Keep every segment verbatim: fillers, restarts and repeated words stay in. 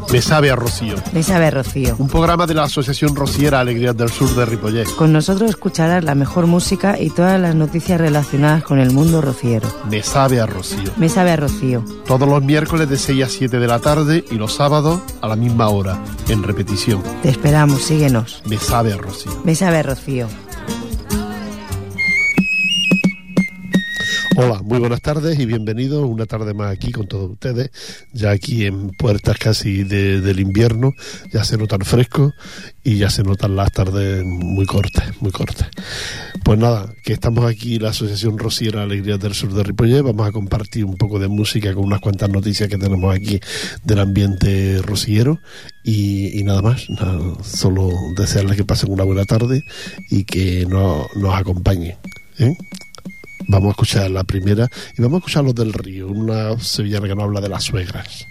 Me sabe a Rocío. Me sabe a Rocío. Un programa de la Asociación Rociera Alegrías del Sur de Ripollet. Con nosotros escucharás la mejor música y todas las noticias relacionadas con el mundo rociero. Me sabe a Rocío. Me sabe a Rocío. Todos los miércoles de seis a siete de la tarde y los sábados a la misma hora, en repetición. Te esperamos, síguenos. Me sabe a Rocío. Me sabe a Rocío. Hola, muy buenas tardes y bienvenidos una tarde más aquí con todos ustedes, ya aquí en puertas casi de, del invierno, ya se notan frescos y ya se notan las tardes muy cortas, muy cortas. Pues nada, que estamos aquí la Asociación Rociera Alegrías del Sur de Ripollet, vamos a compartir un poco de música con unas cuantas noticias que tenemos aquí del ambiente rociero y, y nada más, nada, solo desearles que pasen una buena tarde y que no, nos acompañen, ¿eh? Vamos a escuchar la primera y vamos a escuchar Los del Río, una sevillana que nos habla de las suegras.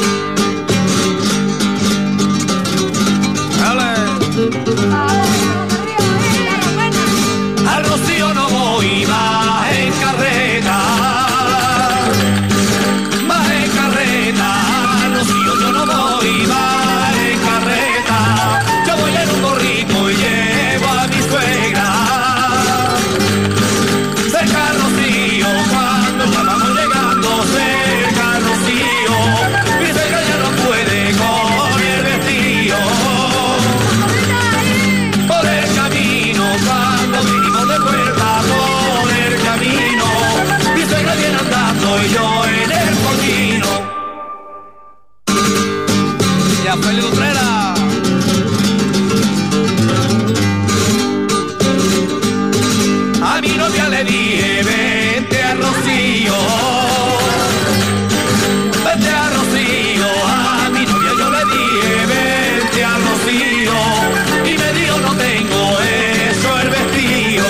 Al Rocío no voy más en carreta, más en carreta, al Rocío yo no voy más en carreta, yo voy en un borrico y llevo a mi suegra. Yo en el pollino. Ya fue el Utrera. A mi novia le dije, vente a Rocío, vente a Rocío. A mi novia yo le dije, vente a Rocío, y me dijo, no tengo eso el vestido.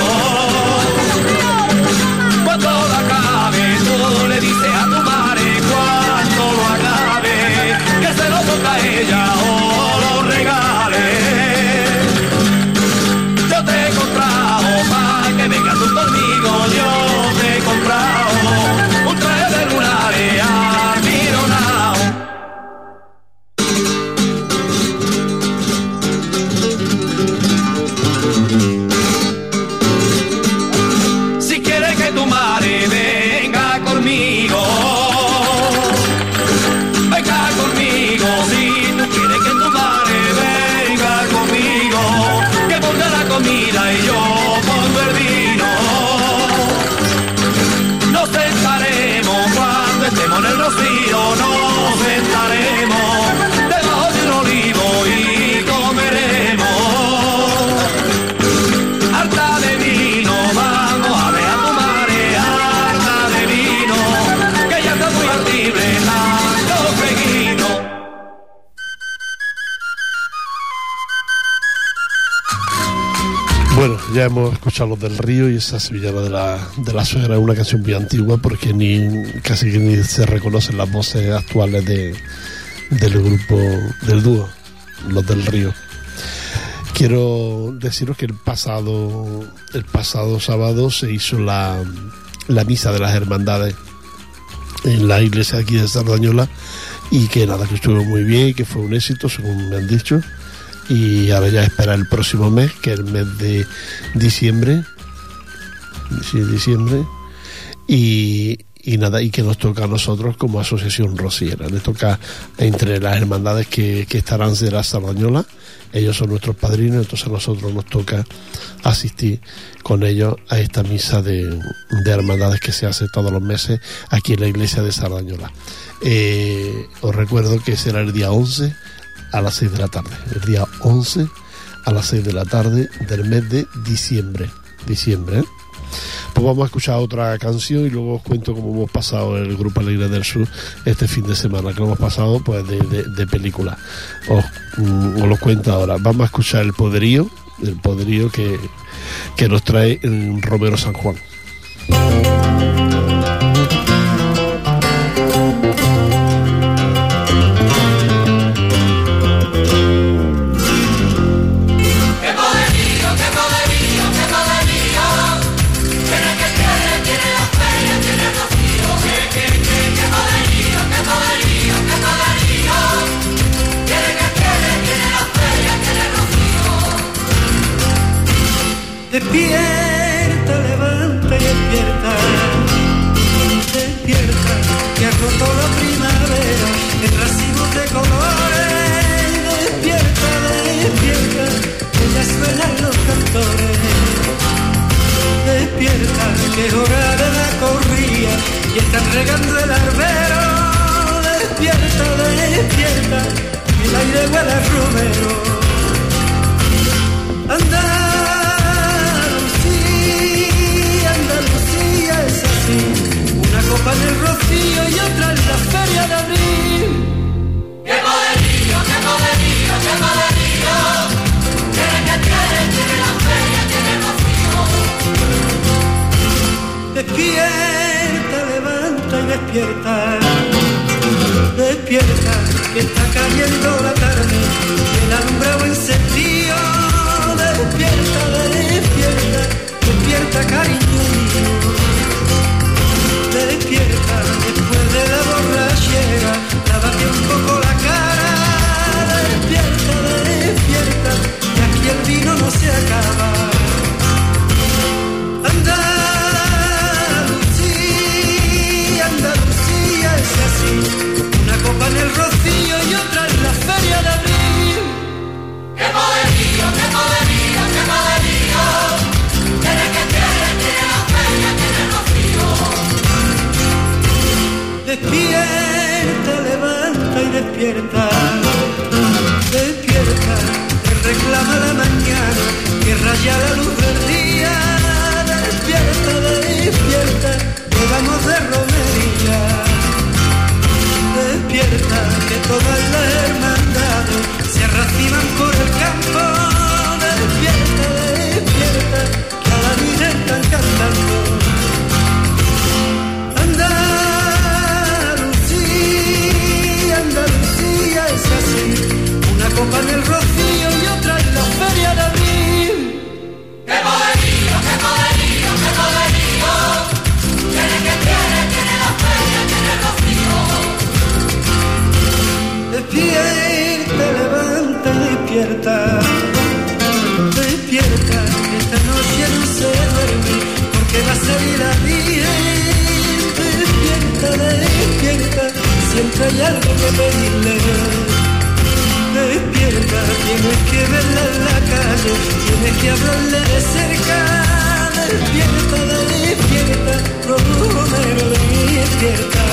Cuando lo acabe, tú le dices a tu madre, cuando lo acabe, que se lo toca a ella o lo regale. Yo te he comprado pa' que vengas tú conmigo, yo te he comprado un traje de lunares almironao. Si quieres que tu madre venga conmigo, venga conmigo, si tú quieres que tu madre venga conmigo, que ponga la comida y yo pongo el vino. Nos sentaremos cuando estemos en el Rocío, nos sentaremos debajo de un olivo y comeremos harta de vino. Vamos a ver a tu madre harta de vino, que ya está muy altible tanto peguino. Bueno, ya hemos escuchado Los del Río y esa sevillana de la, de la suegra, una canción muy antigua porque ni casi que ni se reconocen las voces actuales de, del grupo, del dúo, Los del Río. Quiero deciros que el pasado, el pasado sábado se hizo la, la misa de las hermandades en la iglesia aquí de Sardañola y que nada, que estuvo muy bien y que fue un éxito, según me han dicho. Y ahora ya espera el próximo mes, que es el mes de diciembre, sí, diciembre, y, y nada, y que nos toca a nosotros como asociación rociera, le toca entre las hermandades que, que estarán de la Sardañola, ellos son nuestros padrinos, entonces a nosotros nos toca asistir con ellos a esta misa de, de hermandades que se hace todos los meses aquí en la iglesia de Sardañola. Eh, os recuerdo que será el día once a las seis de la tarde, el día once a las seis de la tarde del mes de diciembre, diciembre, ¿eh? Pues vamos a escuchar otra canción y luego os cuento cómo hemos pasado el Grupo Alegrías del Sur este fin de semana, que lo hemos pasado pues de, de, de película. Os, mm, os lo cuento ahora. Vamos a escuchar El Poderío, el poderío que, que nos trae en Romero San Juan. Despierta, levanta y despierta, despierta, que ha roto la primavera en racimos de colores. Despierta, despierta, que ya suenan los cantores. Despierta, que es hora de la corrida y están regando el arbero. Despierta, despierta, que el aire huele a romero. Andalucía, Andalucía es así, una copa en el Rocío y otra en la Feria de Abril. ¡Qué poderío, qué poderío, qué poderío! Tiene que tiene, tiene la feria, tiene el Rocío. Despierta, levanta y despierta, despierta, que está cayendo la tarde y el alumbrado encendido. Despierta, despierta, despierta, cariño mío. Despierta, después de la borrachera, lávate un poco la cara. Despierta, despierta, que aquí el vino no se acaba. Andalucía, Andalucía es así, una copa en el Rocío y otra en la Feria de Abril. ¡Qué poderío, qué poderío, qué poderío! Tiene que tiene, tiene la feria, tiene el Rocío. Despierta, levanta y despierta, despierta, que reclama la mañana, que raya la luz del día. Despierta, despierta, que vamos de romería. Despierta, que todas las hermandades se arraciman por el campo. Despierta, despierta, que a la Virgen están cantando. Andalucía, Andalucía es así, una copa en el Rocío y otra en la Feria de Abril. ¡Qué poderío, qué poderío, qué poderío! Tiene que tiene, tiene la feria, tiene el Rocío. Despierta, levanta y despierta, despierta, que esta noche no se duerme, porque va a salir la Virgen. Despierta, despierta, siempre hay algo que pedirle. Despierta, tienes que verla en la calle, tienes que hablarle de cerca. Despierta, despierta, Romero, despierta.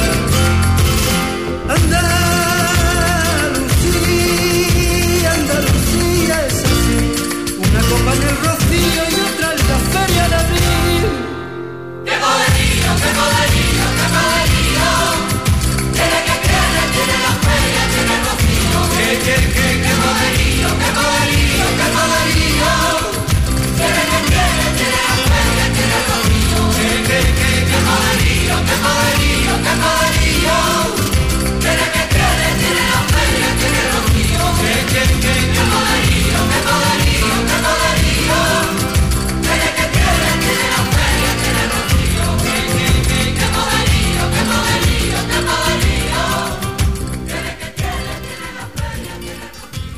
Andalucía, Andalucía es así, una copa en el Rocío y otra en la Feria de Abril. ¡Qué poderío, qué poderío, qué poderío! Tiene que tiene, tiene la feria, tiene el Rocío. ¡Qué, qué, qué, qué poderío, qué poderío, qué poderío! Tiene que tiene, tiene la feria, tiene el Rocío. ¡Qué, qué, qué, qué poderío, qué poderío, qué poderío! Tiene que tiene, tiene la feria, tiene el Rocío. ¡Qué, qué, qué, qué poderío, qué poderío, qué poderío! Tiene que tiene, tiene la feria, tiene el Rocío. ¡Qué, qué, qué, qué poderío, qué poderío, qué poderío! Tiene que tiene, tiene la feria, tiene el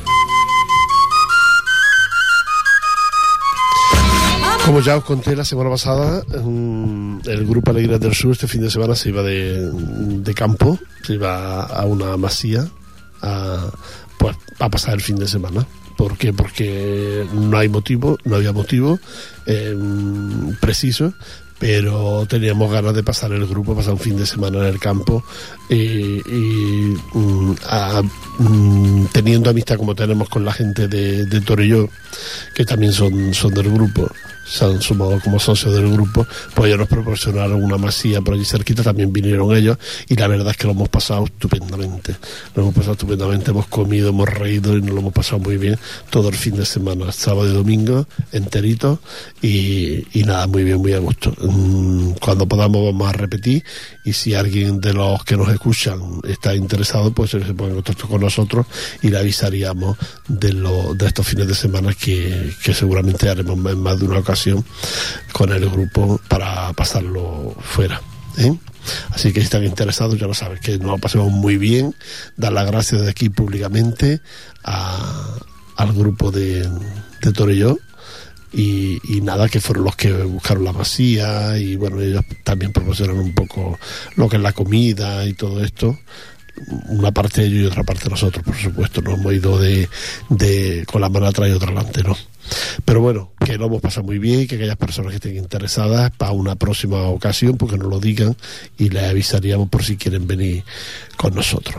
Rocío. Como ya os conté la semana pasada, el Grupo Alegrías del Sur este fin de semana se iba de, de campo, se iba a una masía a, pues, a pasar el fin de semana. ¿Por qué? Porque no hay motivo, no había motivo eh, preciso, pero teníamos ganas de pasar el grupo, pasar un fin de semana en el campo y, y mm, a, mm, teniendo amistad como tenemos con la gente de, de Torelló, que también son, son del grupo, se han sumado como socios del grupo, pues ellos nos proporcionaron una masía por allí cerquita, también vinieron ellos y la verdad es que lo hemos pasado estupendamente, lo hemos pasado estupendamente, hemos comido, hemos reído y nos lo hemos pasado muy bien todo el fin de semana, sábado y domingo enterito y, y nada, muy bien, muy a gusto. Cuando podamos vamos a repetir y si alguien de los que nos escuchan está interesado, pues se pone en contacto con nosotros y le avisaríamos de, lo, de estos fines de semana que, que seguramente haremos en más de una ocasión con el grupo para pasarlo fuera, ¿eh? Así que si están interesados, ya lo sabes, que nos lo pasemos muy bien. Dar las gracias de aquí públicamente a, al grupo de, de Torelló y, y nada, que fueron los que buscaron la masía, y bueno, ellos también proporcionan un poco lo que es la comida y todo esto. Una parte de ellos y otra parte de nosotros, por supuesto. No hemos ido de, de con la mano atrás y otra adelante, no. Pero bueno, que lo hemos pasado muy bien, y que aquellas personas que estén interesadas para una próxima ocasión, porque nos lo digan y les avisaríamos por si quieren venir con nosotros.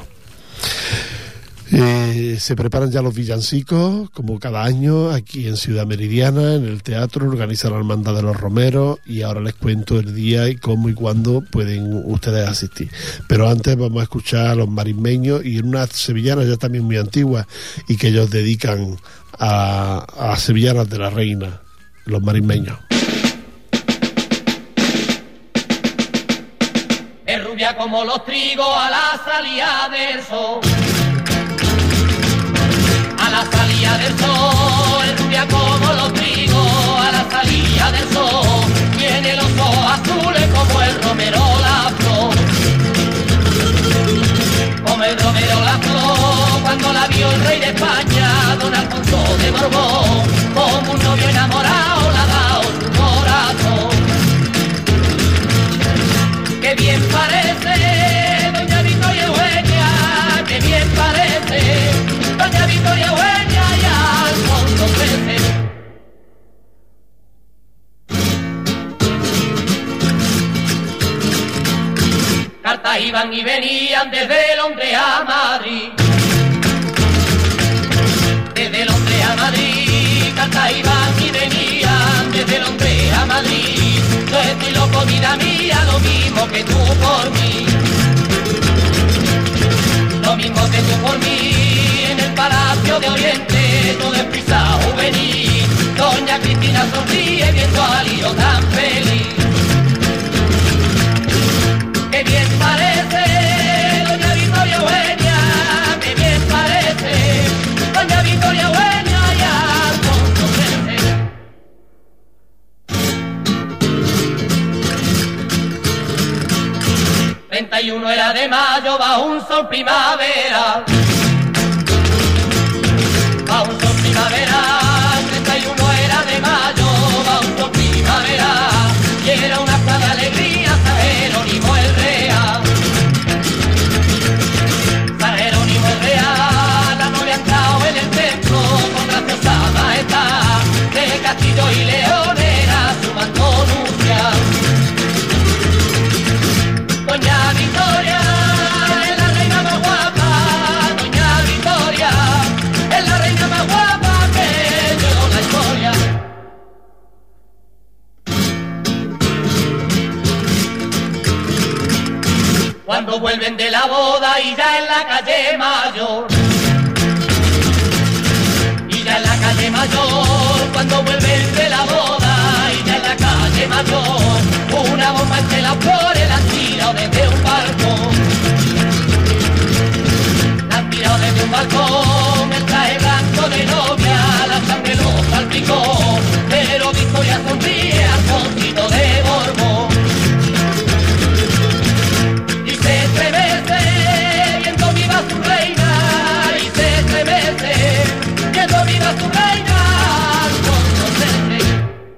Eh, se preparan ya los villancicos, como cada año, aquí en Ciudad Meridiana, en el teatro, organiza la Hermandad de los Romeros, y ahora les cuento el día y cómo y cuándo pueden ustedes asistir. Pero antes vamos a escuchar a los marismeños, y en una sevillana ya también muy antigua, y que ellos dedican a, a sevillanas de la reina, los marismeños. Es rubia como los trigos a la salida del sol. A la salida del sol, es rubia como los trigos, a la salida del sol, tiene los ojos azules como el romero la flor, como el romero la flor, cuando la vio el rey de España, don Alfonso de Borbón, como un novio enamorado le ha dado su corazón. Qué bien parece doña Victoria Eugenia, qué bien parece doña Victoria Eugenia y Alfonso trece. Cartas iban y venían desde Londres a Madrid, desde Londres a Madrid, cartas iban y venían desde Londres a Madrid. Yo estoy loco, vida mía, lo mismo que tú por mí, lo mismo que tú por mí. En el Palacio de Oriente todo es prisa juvenil, doña Cristina sonríe viendo al lío tan feliz. Qué bien parece doña Victoria Eugenia, qué bien parece doña Victoria Eugenia y Alfonso trece. treinta y uno era de mayo bajo un sol primaveral, bajo un sol primaveral, treinta y uno era de mayo bajo un sol primaveral, y era una acta de alegría San Jerónimo el Real, San Jerónimo el Real, la novia ha entrado en el templo con graciosa majestad, de castillo y león era su manto nupcial. Doña Victoria es la reina más guapa, doña Victoria es la reina más guapa que dio la historia. Cuando vuelven de la boda y ya en la calle Mayor, y ya en la calle Mayor, cuando vuelven de la boda y ya en la calle Mayor, una bomba entre las flores la han tirado desde un balcón, la han tirado desde un balcón, el traje blanco de novia, la sangre lo salpicó, pero Victoria sonríe al Alfonsito de Borbón. Y se estremece viendo viva su reina, y se estremece viendo viva su reina, Alfonso trece.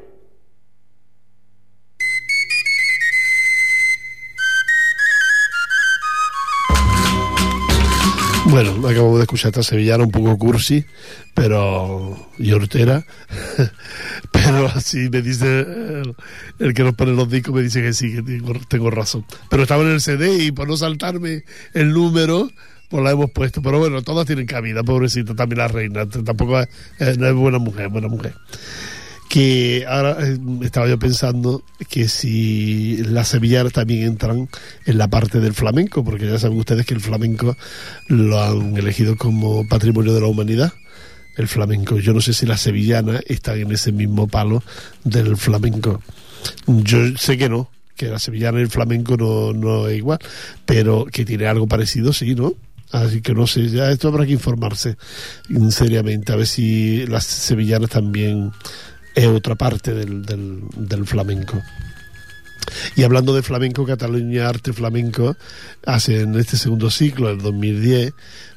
Bueno, acabamos de escuchar esta sevillana un poco cursi, pero y hortera, pero así me dice el, el que nos pone los discos, me dice que sí, que tengo, tengo razón. Pero estaba en el C D y por no saltarme el número, pues la hemos puesto. Pero bueno, todas tienen cabida, pobrecita, también la reina, tampoco es, eh, no es buena mujer, buena mujer. Que ahora eh, estaba yo pensando que si las sevillanas también entran en la parte del flamenco, porque ya saben ustedes que el flamenco lo han elegido como patrimonio de la humanidad, el flamenco. Yo no sé si las sevillanas están en ese mismo palo del flamenco. Yo sé que no, que la sevillana y el flamenco no, no es igual, pero que tiene algo parecido, sí, ¿no? Así que no sé, ya esto habrá que informarse seriamente, a ver si las sevillanas también es otra parte del, del, del flamenco. Y hablando de flamenco, Cataluña Arte Flamenco hace en este segundo ciclo, el dos mil diez,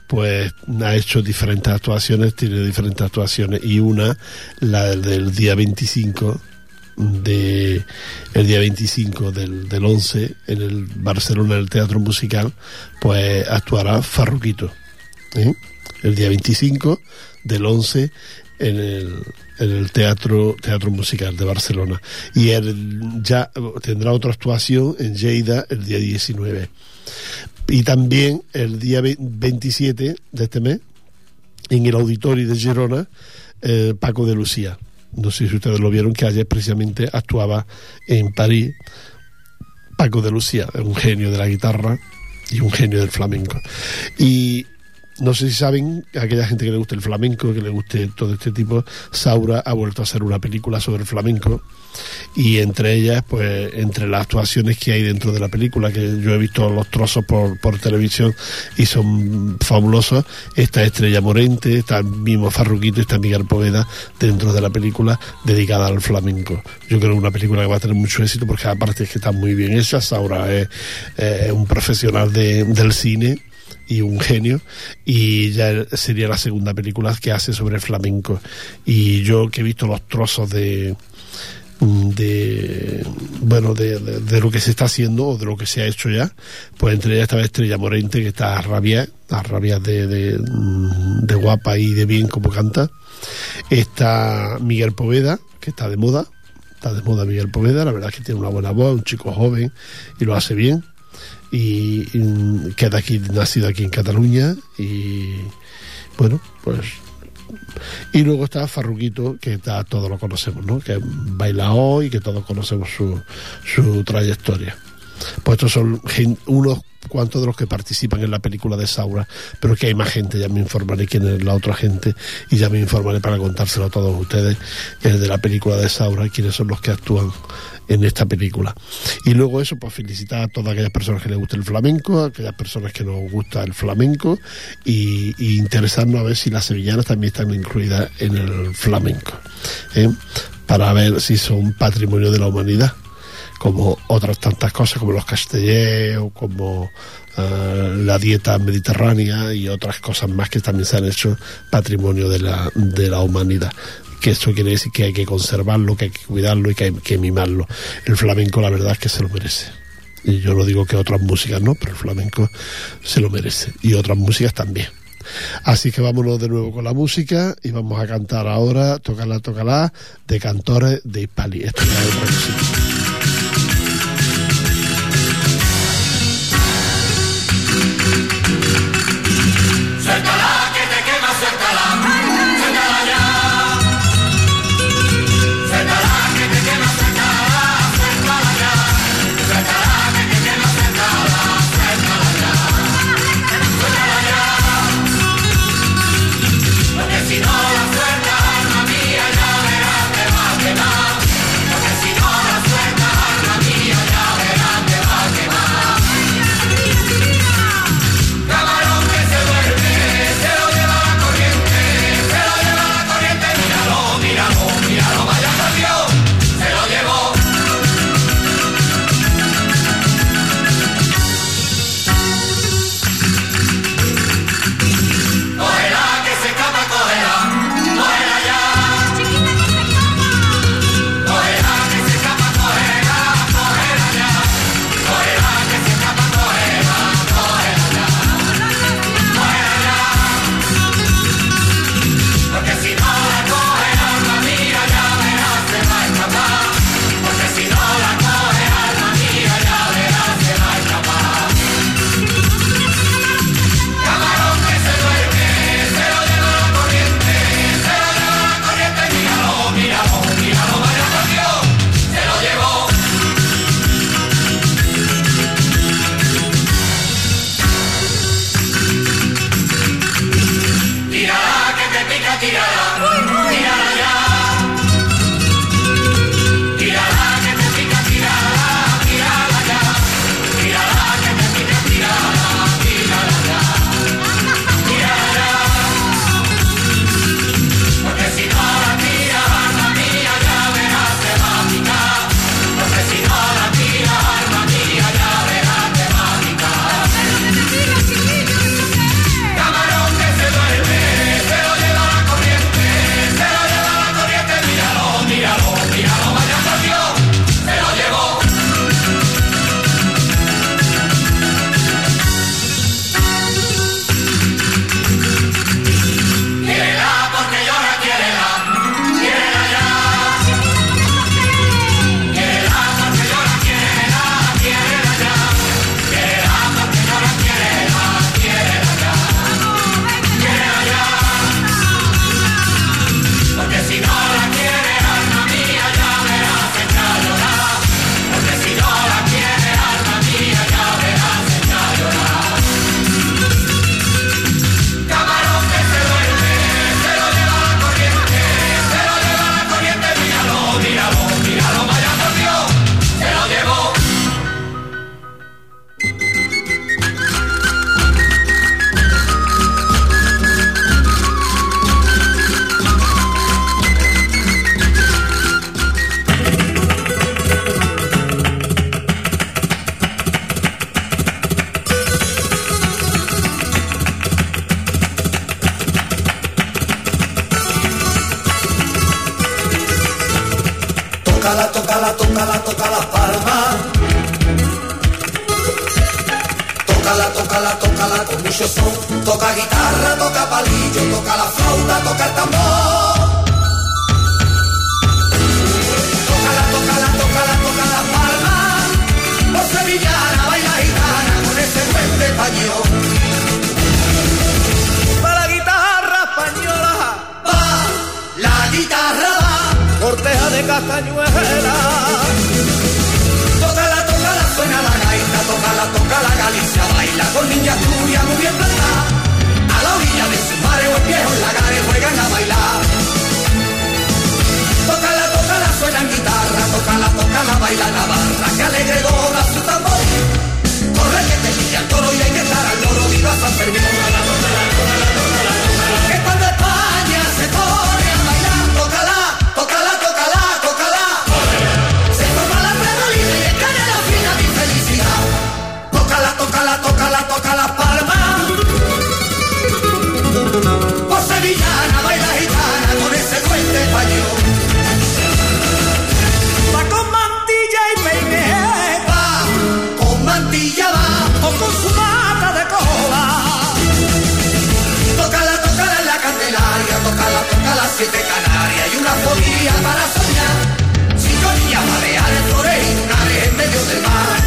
pues ha hecho diferentes actuaciones, tiene diferentes actuaciones, y una, la del día veinticinco de el día veinticinco del, del once en el Barcelona, en el Teatro Musical, pues actuará Farruquito, ¿eh? El día veinticinco del once en el, en el teatro Teatro Musical de Barcelona, y él ya tendrá otra actuación en Lleida el día diecinueve, y también el día veintisiete de este mes en el Auditorio de Girona, eh, Paco de Lucía. No sé si ustedes lo vieron, que ayer precisamente actuaba en París Paco de Lucía, un genio de la guitarra y un genio del flamenco. Y no sé si saben, a aquella gente que le guste el flamenco, que le guste todo este tipo, Saura ha vuelto a hacer una película sobre el flamenco, y entre ellas, pues, entre las actuaciones que hay dentro de la película, que yo he visto los trozos por, por televisión y son fabulosos, está Estrella Morente, está el mismo Farruquito, está Miguel Poveda dentro de la película dedicada al flamenco. Yo creo que es una película que va a tener mucho éxito, porque aparte es que está muy bien hecha. Saura es, es un profesional de, del cine y un genio, y ya sería la segunda película que hace sobre el flamenco. Y yo, que he visto los trozos de de bueno de, de, de lo que se está haciendo o de lo que se ha hecho ya, pues entre ellas estaba Estrella Morente, que está a rabiar, a rabiar de, de, de guapa y de bien como canta. Está Miguel Poveda, que está de moda, está de moda Miguel Poveda, la verdad es que tiene una buena voz, un chico joven y lo hace bien. Y, y queda aquí, nacido aquí en Cataluña, y bueno, pues, y luego está Farruquito, que está, todos lo conocemos, ¿no? Que baila hoy, que todos conocemos su, su trayectoria. Pues estos son gen, unos cuantos de los que participan en la película de Saura, pero que hay más gente. Ya me informaré quién es la otra gente, y ya me informaré para contárselo a todos ustedes, que es de la película de Saura, quiénes son los que actúan en esta película. Y luego eso, pues felicitar a todas aquellas personas que les gusta el flamenco, a aquellas personas que nos gusta el flamenco, y, y interesarnos a ver si las sevillanas también están incluidas en el flamenco, ¿eh? Para ver si son patrimonio de la humanidad, como otras tantas cosas, como los castellers, o como uh, la dieta mediterránea y otras cosas más que también se han hecho patrimonio de la, de la humanidad. Que eso quiere decir que hay que conservarlo, que hay que cuidarlo y que hay que mimarlo. El flamenco, la verdad es que se lo merece. Y yo no digo que otras músicas no, pero el flamenco se lo merece, y otras músicas también. Así que vámonos de nuevo con la música, y vamos a cantar ahora Tócala, tócala, de Cantores de Hispali. Esto ya es otra música. Si no la suelta, alma mía, ya verás que va a quemar. Porque si no la suelta, tócala, tócala, tócala, toca las palmas. Tócala, tócala, tócala con mucho son. Toca guitarra, toca palillo, toca la flauta, toca el tambor. Tócala, tócala, tócala, toca las palmas. Por sevillana, baila gitana con ese puente español. para la guitarra española, Va, la guitarra va. corteja de castañuela. Tócala, tócala, suena la gaita, tócala, tócala, Galicia baila con niña Asturias muy bien plantada. A la orilla de su madre o viejos lagares juegan a bailar. Tócala, tócala, suena en guitarra, tócala, tócala, baila Navarra, que alegre dobla su tambor. Corre que te pilla el toro y hay que estar al loro, viva San Fermín. Que cuando España se pone a bailar, tócala, tócala, tócala, tócala. Se forma la redolina y escala la fina mi felicidad. Tócala, tócala, tócala, toca las palmas. Por sevillana, baila gitana con ese duende español. Va con mantilla y peineta, Va, con mantilla va. o con su mata de cola. Tócala, tócala en la Candelaria, tócala, tócala siete Canarias y una folía para soñar. Sintonía, baleares, flores y lunares en medio del mar.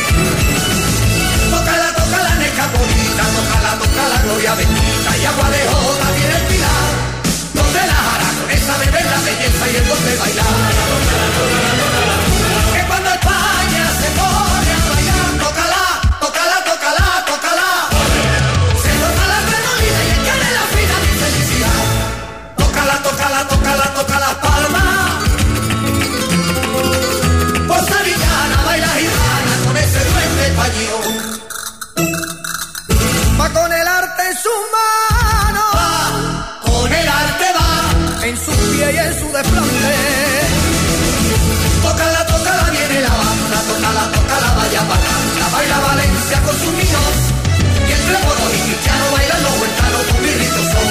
Tócala, tócala en Escapolita, tócala, tócala Gloria Bendita y agua de joda tiene el pilar. Donde la aragonesa bebe la belleza y el don de bailar. Que cuando España se pone a bailar, tócala, tócala, tócala, tócala. Se forma la redolina y escala la fina mi felicidad. Tócala, tócala, tócala, toca las palmas. Por sevillana baila gitana con ese duende español. Va con el arte en sus manos, Va, con el arte va. en su pie y en su desplante. Tócala, tócala, viene la banda. Tócala, tócala, vaya bacana. Baila Valencia con sus niños. Y entre moros y cristianos bailan los huertanos con birritos son.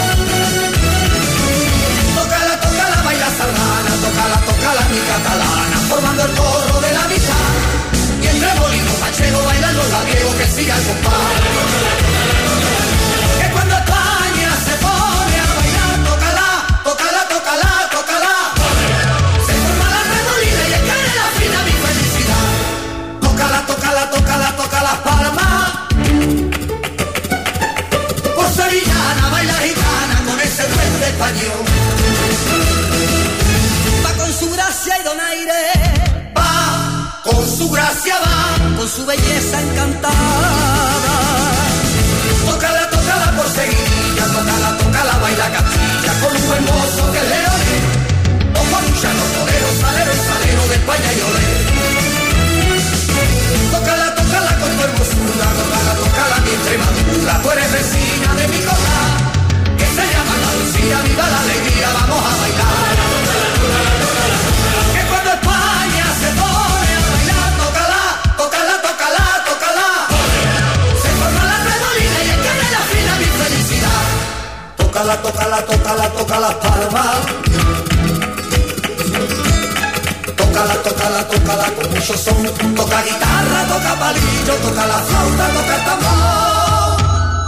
Tócala, tócala, baila sardana. Tócala, tócala, mi catalana. Formando el coro de la mitad. Y entre molinos manchegos bailan los labiegos que sigan con paz. Que cuando España se pone a bailar, tócala, tócala, tócala, tócala. Se forma la redolina y escala la fina mi felicidad. Tócala, tócala, tócala, toca las palmas. Por sevillana baila gitana con ese duende español. Va con su gracia y donaire, Va, con su gracia va. con su belleza encantada. Tócala, tócala por seguidilla, tócala, tócala, baila Castilla con un buen mozo que es leonés. O con un llano torero, salero y salero de España y olé. Tócala, tócala con tu hermosura, tócala, tócala mi Extremadura. Tú eres vecina de mi costa, que se llama Andalucía, viva la alegría, vamos a bailar. Que cuando España se pone a bailar, tócala, tócala, tócala, tócala. Se forma la redolina y escala la fina mi felicidad. Tócala, tócala, tócala, toca las palmas. Tócala, tócala, tócala con mucho son. Toca guitarra, toca palillo, toca la flauta, toca el tambor.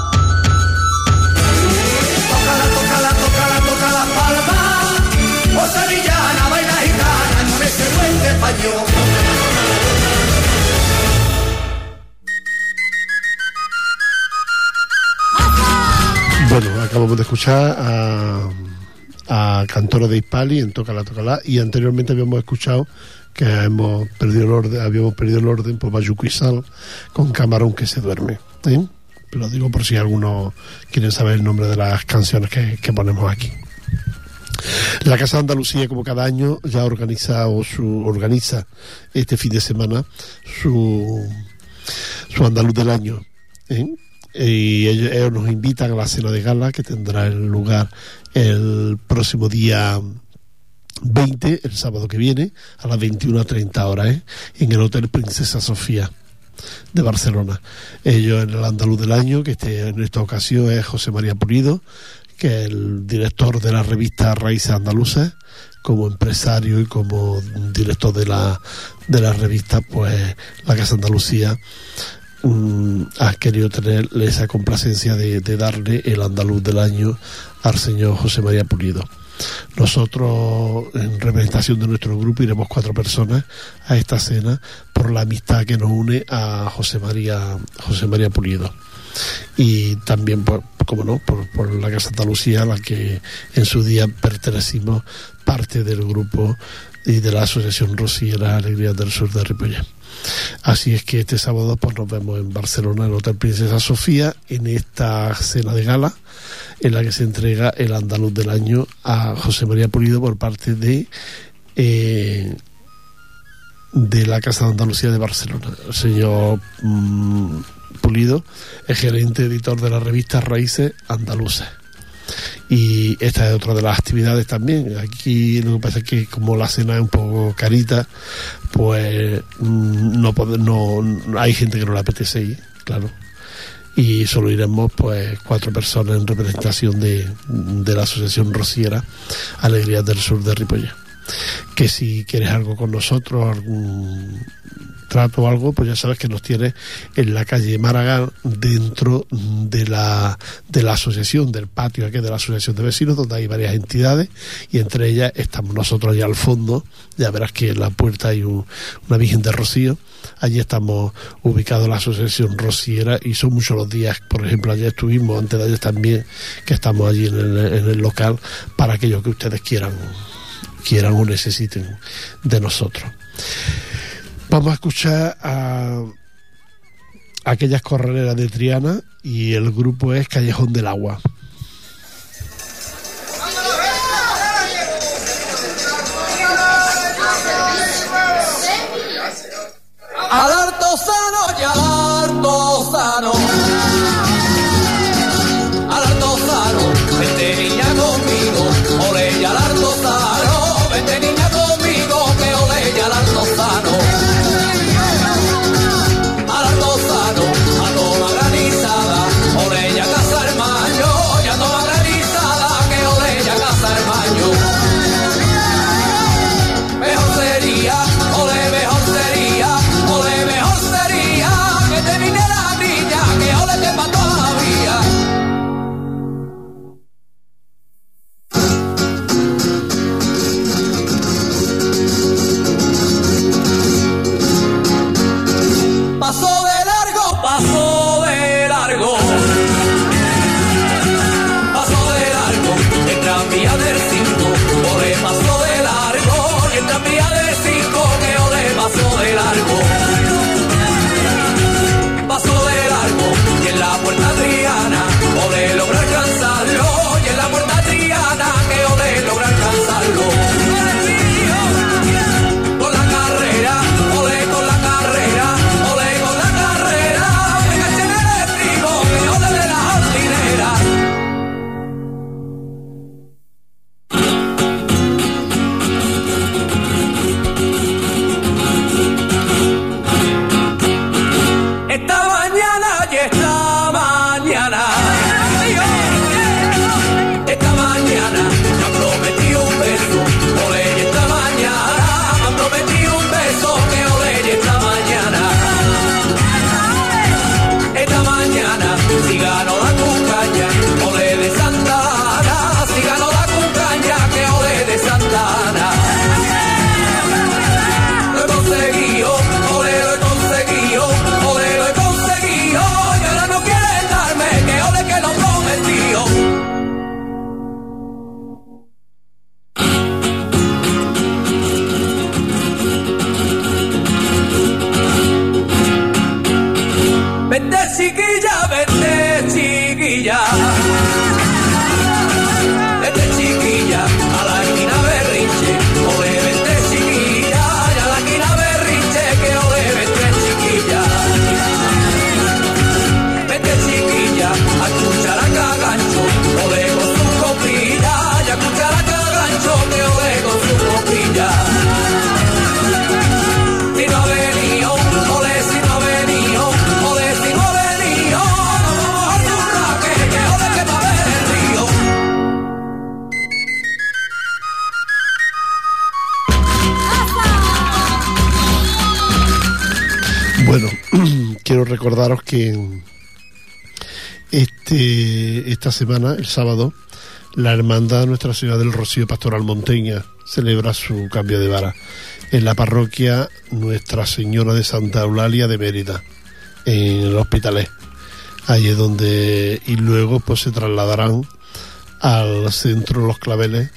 Tócala, tócala, tócala, toca las palmas. O sevillana, baila gitana con ese duende español. Bueno, acabamos de escuchar a, a Cantoro de Hispali en Tócala, Tócala, y anteriormente habíamos escuchado que hemos perdido el orden, habíamos perdido el orden por Bayuco y Sal con Camarón que se duerme, ¿eh? Lo digo por si alguno quiere saber el nombre de las canciones que, que ponemos aquí. La Casa de Andalucía, como cada año, ya organiza o su, organiza este fin de semana su, su Andaluz del Año, ¿eh? Y ellos, ellos nos invitan a la cena de gala que tendrá lugar el próximo día veinte, el sábado que viene, a las veintiuna treinta horas, ¿eh? En el Hotel Princesa Sofía de Barcelona. Ellos en el Andaluz del Año, que este, en esta ocasión es José María Pulido, que es el director de la revista Raíces Andaluzas, como empresario y como director de la, de la revista, pues la Casa Andalucía um, ha querido tener esa complacencia de, de darle el andaluz del año al señor José María Pulido. Nosotros, en representación de nuestro grupo, iremos cuatro personas a esta cena por la amistad que nos une a José María José María Pulido, y también, por, como no, por, por la Casa Andalucía, a la que en su día pertenecimos parte del grupo y de la Asociación Rociera Alegrías del Sur de Ripollet. Así es que este sábado pues nos vemos en Barcelona, en el Hotel Princesa Sofía, en esta cena de gala en la que se entrega el andaluz del año a José María Pulido por parte de eh, de la Casa de Andalucía de Barcelona. El señor mmm, Pulido es gerente editor de la revista Raíces Andaluzas. Y esta es otra de las actividades también. Aquí lo que pasa es que como la cena es un poco carita, pues no, no hay gente que no le apetece ir, claro. Y solo iremos pues cuatro personas en representación de, de la Asociación Rociera Alegrías del Sur de Ripollet. Que si quieres algo con nosotros, algún trato o algo, pues ya sabes que nos tienes en la calle Maragall, dentro de la de la asociación, del patio aquí de la asociación de vecinos, donde hay varias entidades, y entre ellas estamos nosotros allá al fondo. Ya verás que en la puerta hay un, una Virgen de Rocío. Allí estamos ubicados en la asociación rociera, y son muchos los días. Por ejemplo, ayer estuvimos, antes de ayer también, que estamos allí en el, en el local para aquellos que ustedes quieran quieran o necesiten de nosotros. Vamos a escuchar a aquellas corraleras de Triana, y el grupo es Callejón del Agua. Al artesano y al artesano, al artesano, vente niña conmigo, ole y al artesano, vente niña conmigo, que ole y al artesano, al artesano, a toma granizada, ole y a casa hermano, y a toma granizada, que ole y a casa hermano. Mejor sería, ole mejor sería, ole mejor sería que te viniera la niña, que ole te mató la vía. Pasó de largo, pasó de largo, pasó de largo, el tranvía del circo, recordaros que este esta semana, el sábado, la Hermandad Nuestra Señora del Rocío Pastoral Monteña celebra su cambio de vara en la parroquia Nuestra Señora de Santa Eulalia de Mérida, en el Hospitalet. Ahí es donde, y luego pues se trasladarán al centro Los Claveles,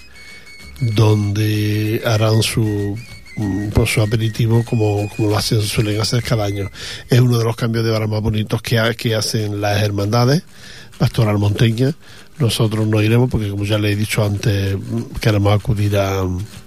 donde harán su pues su aperitivo como, como lo hacen, suelen hacer cada año. Es uno de los cambios de vara más bonitos que, ha, que hacen las hermandades Pastoral Monteña. Nosotros no iremos porque, como ya le he dicho antes, queremos acudir a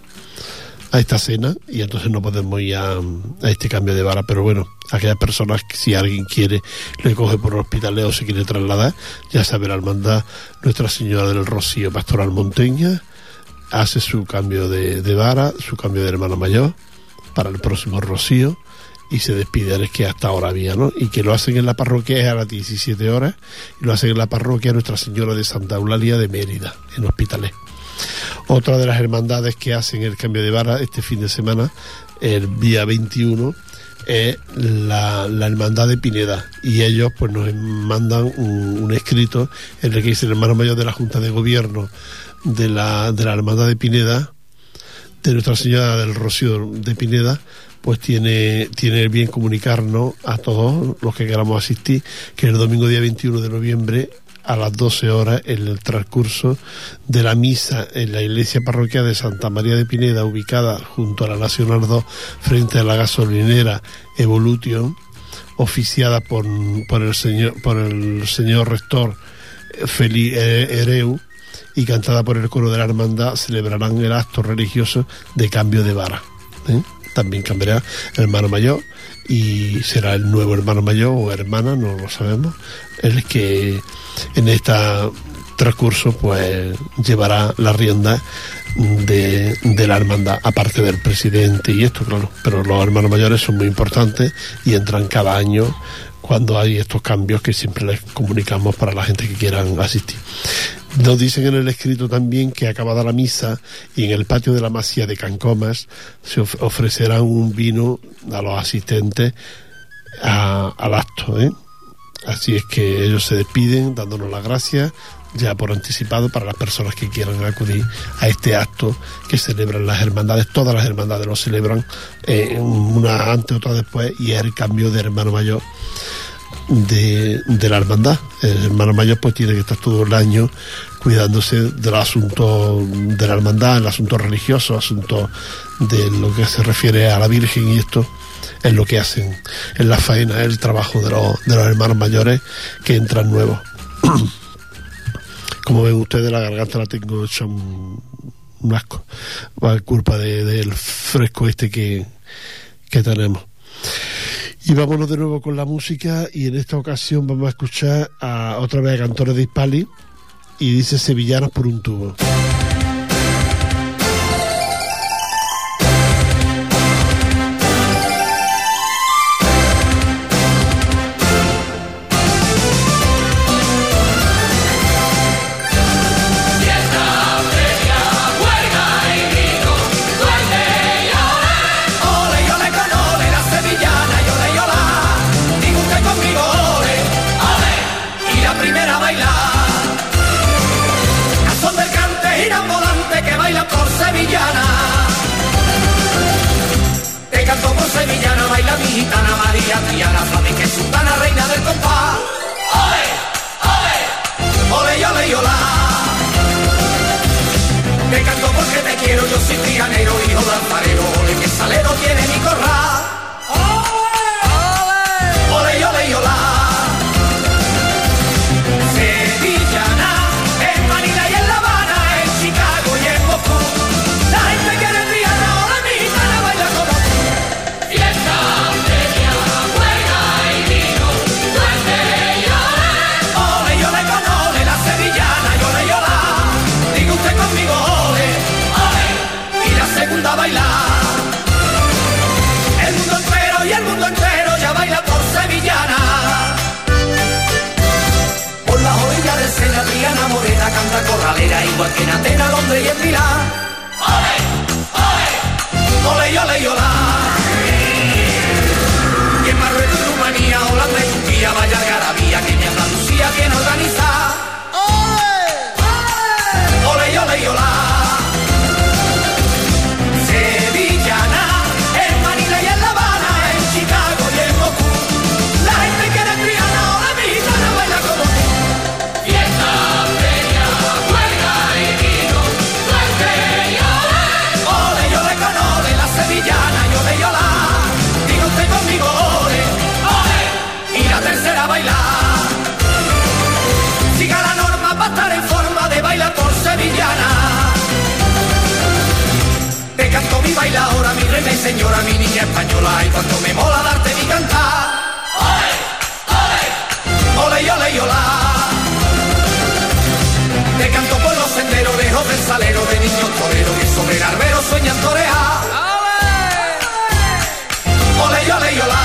a esta cena y entonces no podemos ir a, a este cambio de vara, pero bueno, aquellas personas que si alguien quiere le coge por el Hospitalet o se quiere trasladar, ya sabe, la hermandad Nuestra Señora del Rocío Pastoral Monteña hace su cambio de, de vara, su cambio de hermano mayor para el próximo rocío y se despide, es que hasta ahora había, ¿no? Y que lo hacen en la parroquia es a las diecisiete horas y lo hacen en la parroquia Nuestra Señora de Santa Eulalia de Mérida, en Hospitalet. Otra de las hermandades que hacen el cambio de vara este fin de semana, el día veintiuno, es la, la hermandad de Pineda, y ellos pues nos mandan un, un escrito en el que dice: el hermano mayor de la Junta de Gobierno de la, de la hermandad de Pineda, de Nuestra Señora del Rocío de Pineda, pues tiene, tiene el bien comunicarnos a todos los que queramos asistir que el domingo día veintiuno de noviembre a las doce horas, en el transcurso de la misa en la iglesia parroquial de Santa María de Pineda, ubicada junto a la Nacional dos, frente a la gasolinera Evolution, oficiada por, por, el, señor, por el señor rector Feli Ereu y cantada por el coro de la hermandad, celebrarán el acto religioso de cambio de vara. ¿eh? También cambiará el hermano mayor y será el nuevo hermano mayor o hermana, no lo sabemos, el que en este transcurso pues llevará la rienda de, de la hermandad, aparte del presidente y esto, claro, pero los hermanos mayores son muy importantes y entran cada año cuando hay estos cambios que siempre les comunicamos para la gente que quieran asistir. Nos dicen en el escrito también que acabada la misa y en el patio de la Masía de Cancomas se of- ofrecerá un vino a los asistentes a, al acto, ¿eh? Así es que ellos se despiden dándonos las gracias ya por anticipado para las personas que quieran acudir a este acto que celebran las hermandades. Todas las hermandades lo celebran, eh, una antes, otra después, y es el cambio de hermano mayor de, de la hermandad. El hermano mayor pues tiene que estar todo el año cuidándose del asunto de la hermandad, el asunto religioso, asunto de lo que se refiere a la Virgen, y esto es lo que hacen en la faena, el trabajo de los, de los hermanos mayores que entran nuevos. Como ven ustedes, la garganta la tengo hecha un, un asco, por culpa de, del fresco este que, que tenemos. Y vámonos de nuevo con la música, y en esta ocasión vamos a escuchar a otra vez a Cantores de Hispali, y dice Sevillanos por un tubo. Sevillana baila mi gitana María Triana, flamenca y sultana, reina del compás. ¡Ole! ¡Ole! ¡Ole, ole, y olá! Te canto porque te quiero, yo soy trianero, hijo de alfarero. Ole, que salero tiene mi corral. ¡Ole! ¡Ole, y ole, y olá! Sevillana, en Manila y en La Habana, en Chicago y en Moscú. La gente quiere triana, ole, mi gitana baila como tú. Fiesta, feria, juega y vino, duende y ole. Ole, y ole con ole, la sevillana y ole y olá. Diga usted conmigo ole, ole, y la segunda a bailar. El mundo entero y el mundo entero ya baila por sevillana. Por las orillas del Sena, Triana morena canta corralera, igual que en Atenas, Londres y en Milán. Ole, ole, ole y ole y olá. Y en Marruecos y Rumanía, Holanda y bien organizada. Ole, ole, ole, ole. Sevillana, en Manila y en La Habana, en Chicago y en Moscú. La gente quiere Triana, ahora mi gitana baila como tú. Fiesta, feria, juega y vino, suerte y ole. Ole, y ole con ole, la sevillana y ole y ola. Diga usted conmigo ole, ole. Y la tercera bailar. Siga la norma para estar en forma de bailar por sevillana. Te canto mi bailadora, mi reina y señora, mi niña española. Y cuanto me mola darte mi cantar. Ole, ole, ole y ole y ola. Te canto por los senderos lejos del salero de niños toreros que sobre garberos sueñan torear. Ole y ole y ola.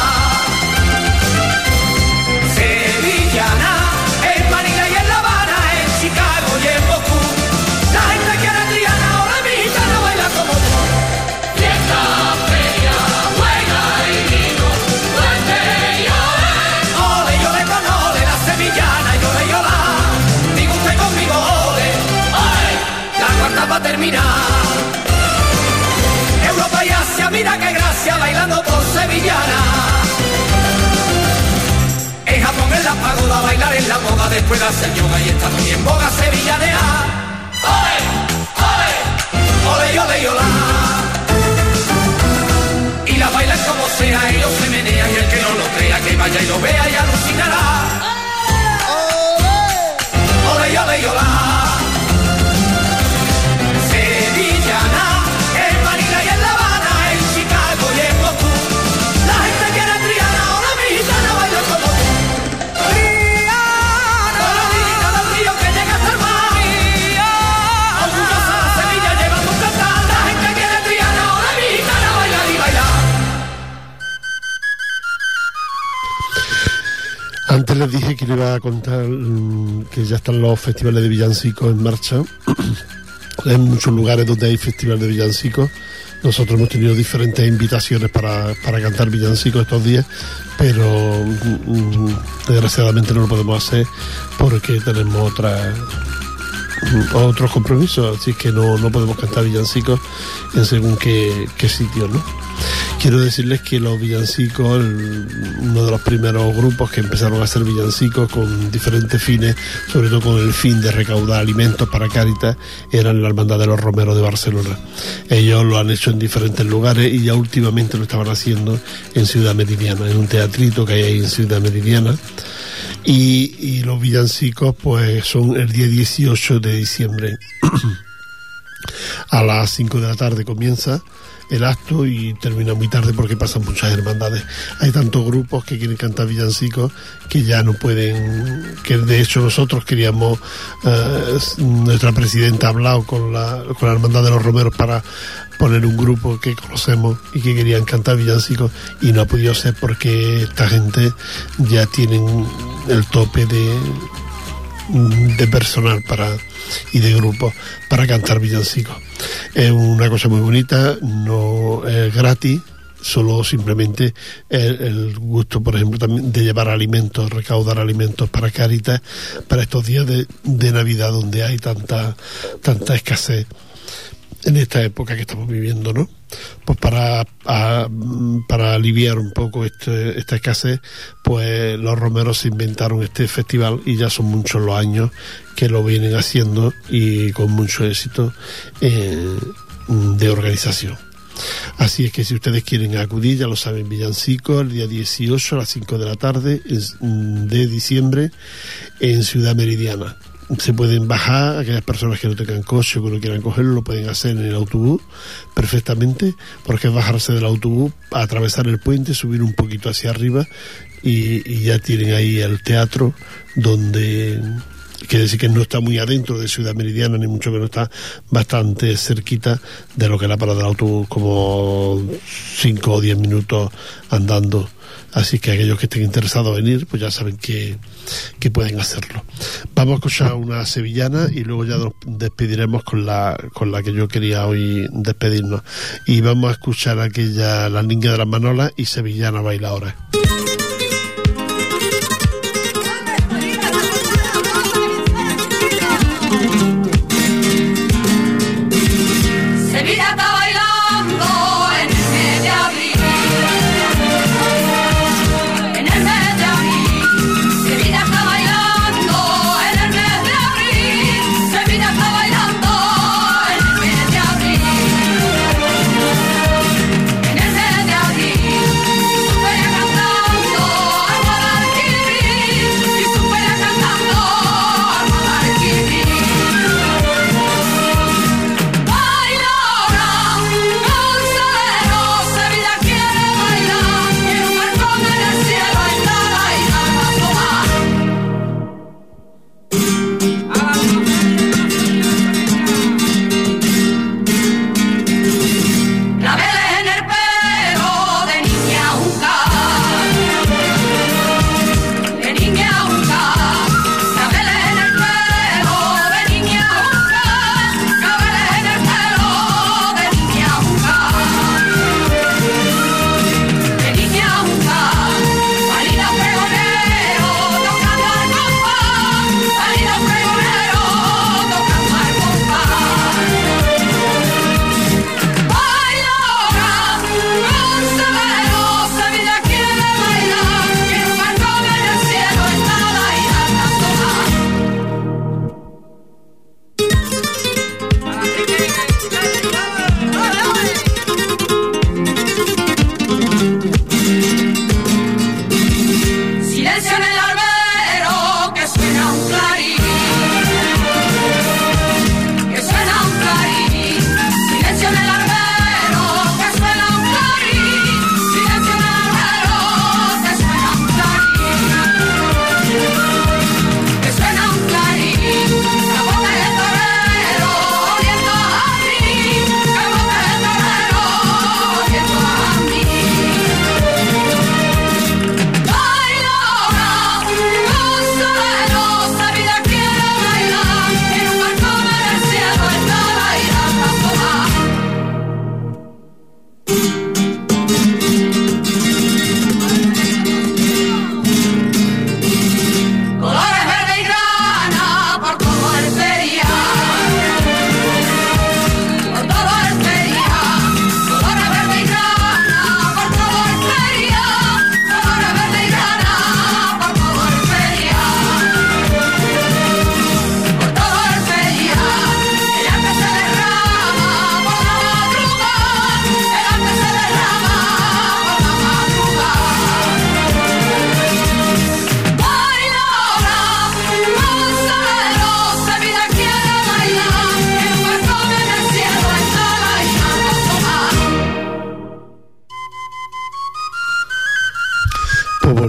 Sevillana, en Manila y en La Habana, en Chicago y en Moscú. La gente quiere Triana, ahora mi gitana baila como tú. Fiesta, feria, juega y vino, suerte y ole. Ole y ole con ole, la sevillana y ole y ola. Diga usted conmigo ole, ole. La cuarta va a terminar. Europa y Asia, mira qué gracia bailando por sevillana. En Japón en la pagoda bailar en la moda, después de hacer yoga y está muy en boga sevillanea. Ole, ole, ole y ole y ola. Y la bailan como sea, ellos se menean y el que no lo crea que vaya y lo vea y alucinará. Ole y ole y ola. Sevillana, en Manila y en La Habana, en Chicago y en Moscú. La gente quiere Triana, ahora mi gitana baila como tú. Triana, colorina del río que llega hasta el mar. Orgullosa la Sevilla lleva tu cantar. La gente quiere Triana, ahora mi gitana baila y baila. Antes les dije que le iba a contar mmm, que ya están los festivales de villancicos en marcha. Hay muchos lugares donde hay festivales de villancicos. Nosotros hemos tenido diferentes invitaciones para, para cantar villancicos estos días, pero mmm, desgraciadamente no lo podemos hacer porque tenemos otras otros compromisos, así que no, no podemos cantar villancicos en según qué, qué sitio, ¿no? Quiero decirles que los villancicos, el, uno de los primeros grupos que empezaron a hacer villancicos con diferentes fines, sobre todo con el fin de recaudar alimentos para Cáritas, eran la Hermandad de los Romeros de Barcelona. Ellos lo han hecho en diferentes lugares y ya últimamente lo estaban haciendo en Ciudad Meridiana, en un teatrito que hay ahí en Ciudad Meridiana. Y, y los villancicos pues son el día dieciocho de diciembre. A las cinco de la tarde comienza el acto y termina muy tarde porque pasan muchas hermandades. Hay tantos grupos que quieren cantar villancicos que ya no pueden, que de hecho nosotros queríamos, eh, nuestra presidenta ha hablado con la, con la Hermandad de los Romeros para poner un grupo que conocemos y que querían cantar villancicos y no ha podido ser porque esta gente ya tienen el tope de de personal para y de grupos para cantar villancicos. Es una cosa muy bonita, no es gratis, solo simplemente el, el gusto, por ejemplo, también de llevar alimentos, recaudar alimentos para Cáritas para estos días de, de Navidad donde hay tanta tanta escasez en esta época que estamos viviendo, ¿no? Pues para a, para aliviar un poco este, esta escasez, pues los romeros se inventaron este festival y ya son muchos los años que lo vienen haciendo y con mucho éxito eh, de organización. Así es que si ustedes quieren acudir, ya lo saben, villancicos el día dieciocho a las cinco de la tarde de diciembre en Ciudad Meridiana. Se pueden bajar, aquellas personas que no tengan coche o que no quieran cogerlo, lo pueden hacer en el autobús perfectamente, porque es bajarse del autobús, atravesar el puente, subir un poquito hacia arriba y, y ya tienen ahí el teatro donde, quiere decir que no está muy adentro de Ciudad Meridiana, ni mucho menos, está bastante cerquita de lo que es la parada del autobús, como cinco o diez minutos andando. Así que aquellos que estén interesados en ir, pues ya saben que, que pueden hacerlo. Vamos a escuchar una sevillana y luego ya nos despediremos con la con la que yo quería hoy despedirnos. Y vamos a escuchar aquella La Niña de las Manolas y Sevillana Bailadora.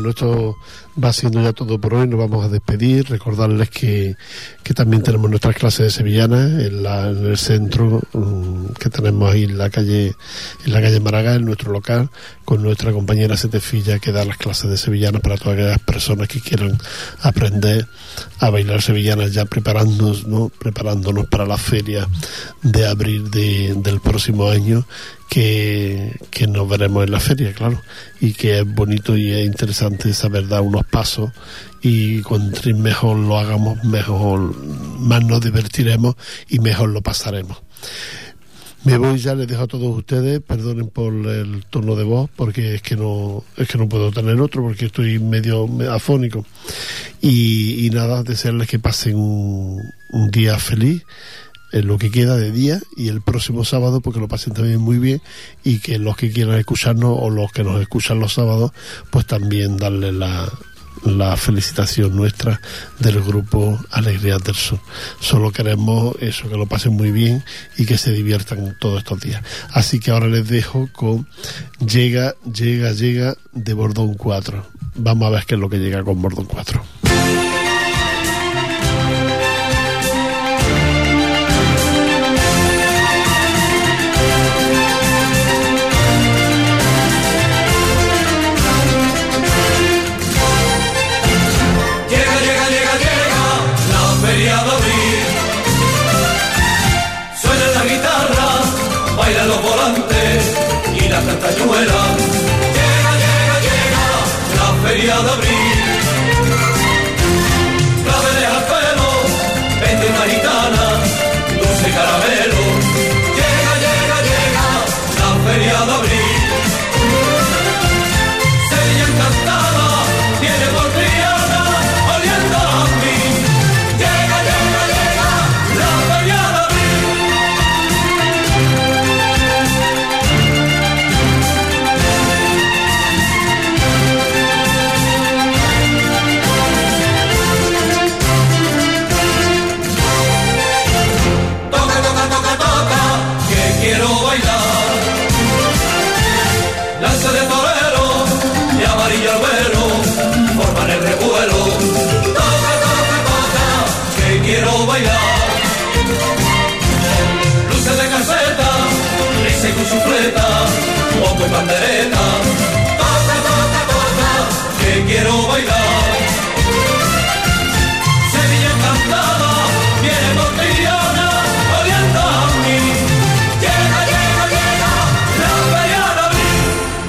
bueno, esto va siendo ya todo por hoy. Nos vamos a despedir. Recordarles que, que también tenemos nuestras clases de sevillanas en, la, en el centro um, que tenemos ahí en la calle en la calle Maragall, en nuestro local, con nuestra compañera Setefilla, que da las clases de sevillanas para todas aquellas personas que quieran aprender a bailar sevillanas, ya preparándonos, ¿no? preparándonos para la feria de abril de, del próximo año, que, que nos veremos en la feria, claro, y que es bonito y es interesante saber dar unos pasos, y cuanto mejor lo hagamos, mejor, más nos divertiremos y mejor lo pasaremos. Me voy ya, les dejo a todos ustedes, perdonen por el tono de voz, porque es que no es que no puedo tener otro, porque estoy medio afónico. Y, y nada, desearles que pasen un, un día feliz, en lo que queda de día, y el próximo sábado porque lo pasen también muy bien, y que los que quieran escucharnos o los que nos escuchan los sábados, pues también darle la, la felicitación nuestra del grupo Alegrías del Sur. Solo queremos eso, que lo pasen muy bien y que se diviertan todos estos días. Así que ahora les dejo con Llega, Llega, Llega de Bordón cuatro. Vamos a ver qué es lo que llega con Bordón cuatro. Los volantes y la cantañuela. Llega, llega, llega la feria de abril. Claveles al pelo, vende una gitana, dulce caramelo. Llega, llega, llega la feria de abril. Sevilla encantada, tiene por Triana, oliendo a mí. Llega, llega, llega la feria de abril. Quiero bailar lanza de torero y amarillo al vuelo, forman el revuelo. Toca, toca, toca, que quiero bailar. Luces de caseta, risa y con su fleta, bombo y pandereta. Toca, toca, toca, que quiero bailar. Sevilla encantada, viene por Triana, oliendo a mí. Llega, llega, llega la feria de abril.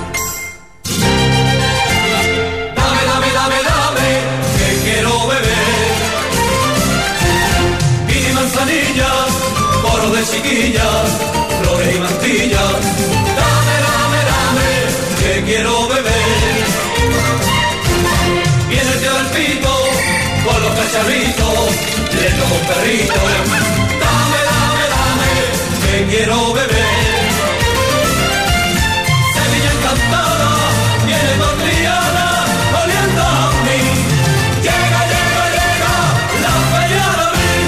Dame, dame, dame, dame, que quiero beber. Vino y manzanilla, coro de chiquillas, flores y mantillas. Dame, dame, dame, que quiero beber. Viene el tío del pito, con los cacharritos, lento con perrito. Dame, dame, dame, que quiero beber. Sevilla encantada, viene por Triana, oliendo a mí. Llega, llega, llega la feria de abril.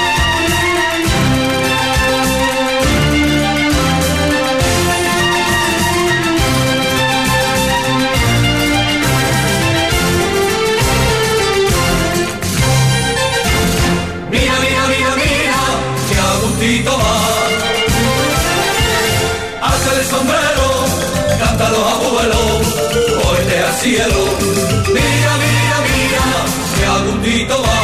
Mira, mira, mira, mira, que a gustito va. Hace el sombrero, canta los abuelos, cohete al cielo. Mira, mira, mira, que a gustito va.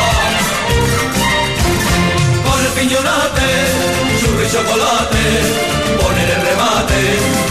Con el piñonate, churro y chocolate, poner el remate.